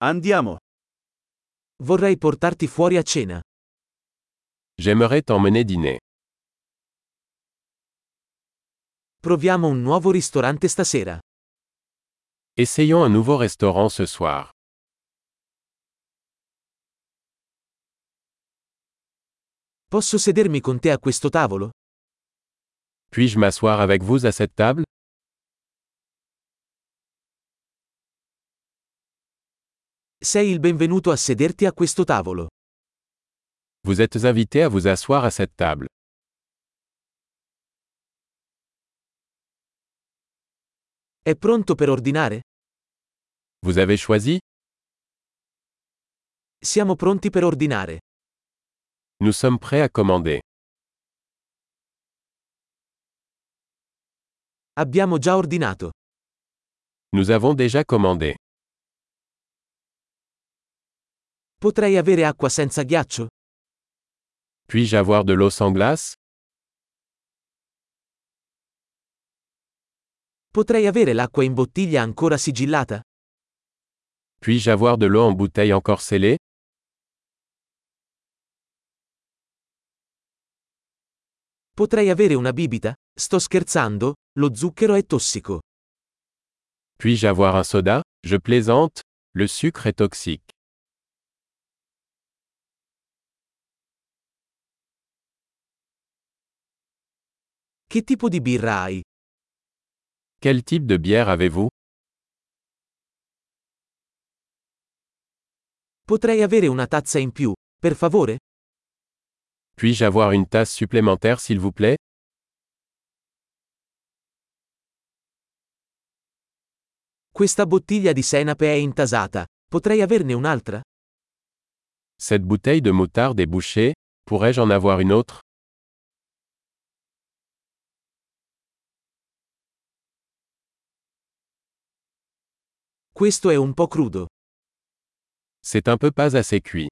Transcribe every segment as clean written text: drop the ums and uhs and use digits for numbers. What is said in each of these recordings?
Andiamo. Vorrei portarti fuori a cena. J'aimerais t'emmener dîner. Proviamo un nuovo ristorante stasera. Essayons un nouveau restaurant ce soir. Posso sedermi con te a questo tavolo? Puis-je m'asseoir avec vous à cette table? Sei il benvenuto a sederti a questo tavolo. Vous êtes invité à vous asseoir à cette table. È pronto per ordinare? Vous avez choisi? Siamo pronti per ordinare. Nous sommes prêts à commander. Abbiamo già ordinato. Nous avons déjà commandé. Potrei avere acqua senza ghiaccio? Puis-je avoir de l'eau sans glace? Potrei avere l'acqua in bottiglia ancora sigillata? Puis-je avoir de l'eau en bouteille encore scellée? Potrei avere una bibita? Sto scherzando, lo zucchero è tossico. Puis-je avoir un soda? Je plaisante, le sucre est toxique. Che tipo di birra hai? Quel type de bière avez-vous? Potrei avere una tazza in più, per favore? Puis-je avoir une tasse supplémentaire s'il vous plaît? Questa bottiglia di senape è intasata. Potrei averne un'altra? Cette bouteille de moutarde est bouchée, pourrais-je en avoir une autre? Questo è un po' crudo. C'est un peu pas assez cuit.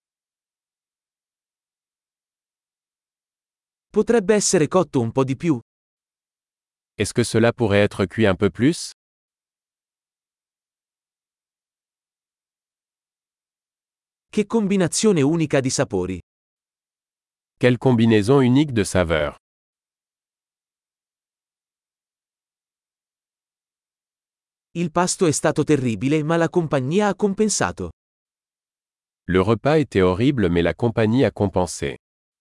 Potrebbe essere cotto un po' di più? Est-ce que cela pourrait être cuit un peu plus? Che combinazione unica di sapori. Quelle combinaison unique de saveurs. Il pasto è stato terribile ma la compagnia ha compensato. Le repas était horrible mais la compagnie a compensé.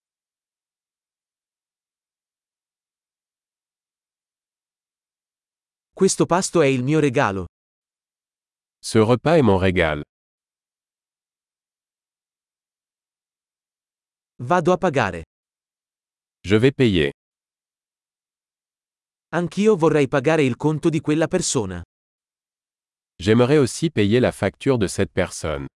Questo pasto è il mio regalo. Ce repas est mon régal. Vado a pagare. Je vais payer. Anch'io vorrei pagare il conto di quella persona. J'aimerais aussi payer la facture de cette personne.